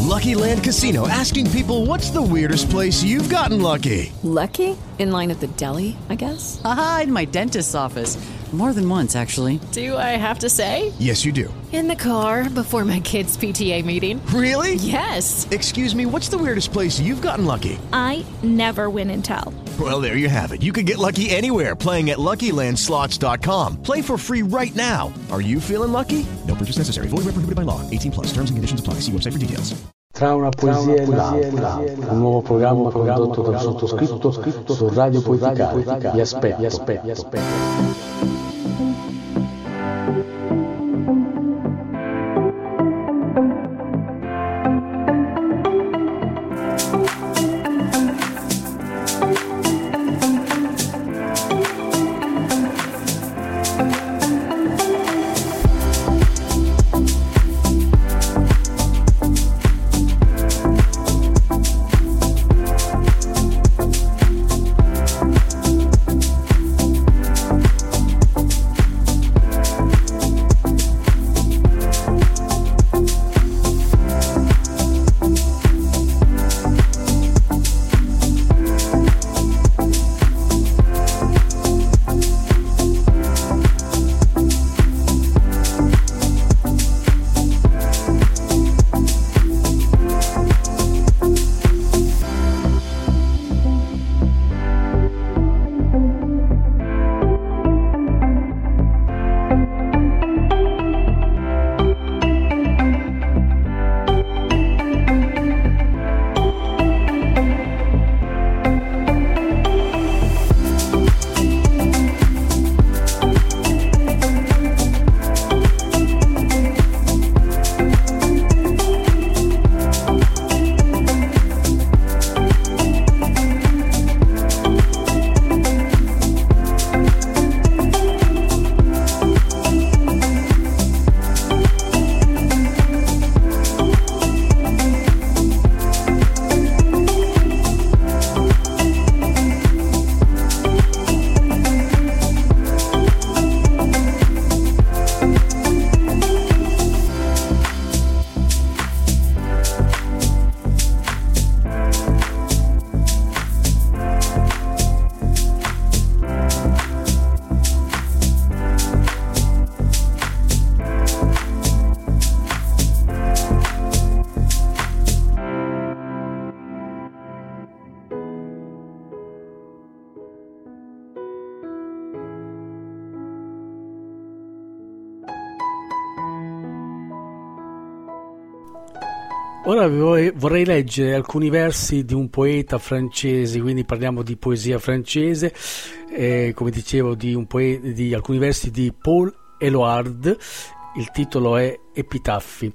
Lucky Land Casino, asking people, what's the weirdest place you've gotten lucky? Lucky? In line at the deli, I guess? Aha, in my dentist's office. More than once, actually. Do I have to say? Yes, you do. In the car before my kids' PTA meeting. Really? Yes. Excuse me, what's the weirdest place you've gotten lucky? I never win and tell. Well, there you have it. You can get lucky anywhere, playing at LuckyLandSlots.com. Play for free right now. Are you feeling lucky? No purchase necessary. Void where prohibited by law. 18 plus. Terms and conditions apply. See website for details. Tra una poesia e l'altra, un nuovo programma condotto dal sottoscritto su Radio Poeticale. Vi aspetto. Ora vorrei leggere alcuni versi di un poeta francese, quindi parliamo di poesia francese, come dicevo di alcuni versi di Paul Éluard. Il titolo è Epitaffi.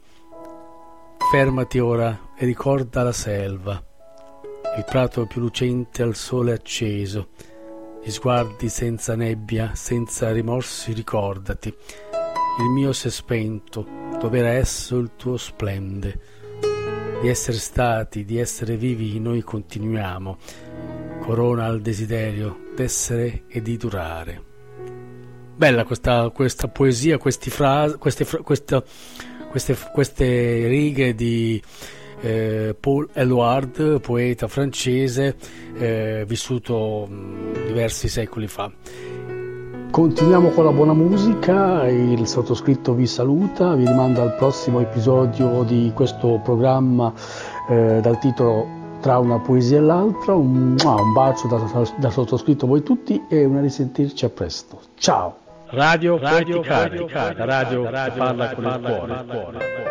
Fermati ora e ricorda la selva, il prato più lucente al sole acceso, gli sguardi senza nebbia, senza rimorsi, ricordati. Il mio s'è spento, dov'era esso il tuo splende. Di essere stati, di essere vivi, noi continuiamo. Corona al desiderio d'essere e di durare. Bella questa poesia, queste righe di Paul Éluard, poeta francese, vissuto diversi secoli fa. Continuiamo con la buona musica, il sottoscritto vi saluta, vi rimanda al prossimo episodio di questo programma dal titolo Tra una poesia e l'altra. Un bacio da sottoscritto a voi tutti e una risentirci a presto. Ciao! Radio Poeticale, la radio che parla con il cuore.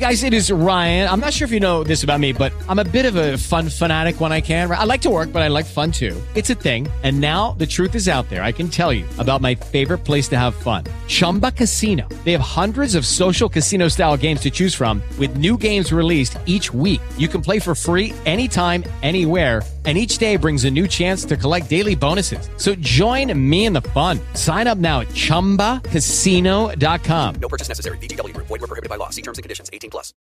guys, it is Ryan. I'm not sure if you know this about me, but I'm a bit of a fun fanatic when I can. I like to work, but I like fun too. It's a thing. And now the truth is out there. I can tell you about my favorite place to have fun. Chumba Casino. They have hundreds of social casino style games to choose from with new games released each week. You can play for free anytime, anywhere. And each day brings a new chance to collect daily bonuses. So join me in the fun. Sign up now at ChumbaCasino.com. No purchase necessary. VGW Group. Void where prohibited by law. See terms and conditions. 18+.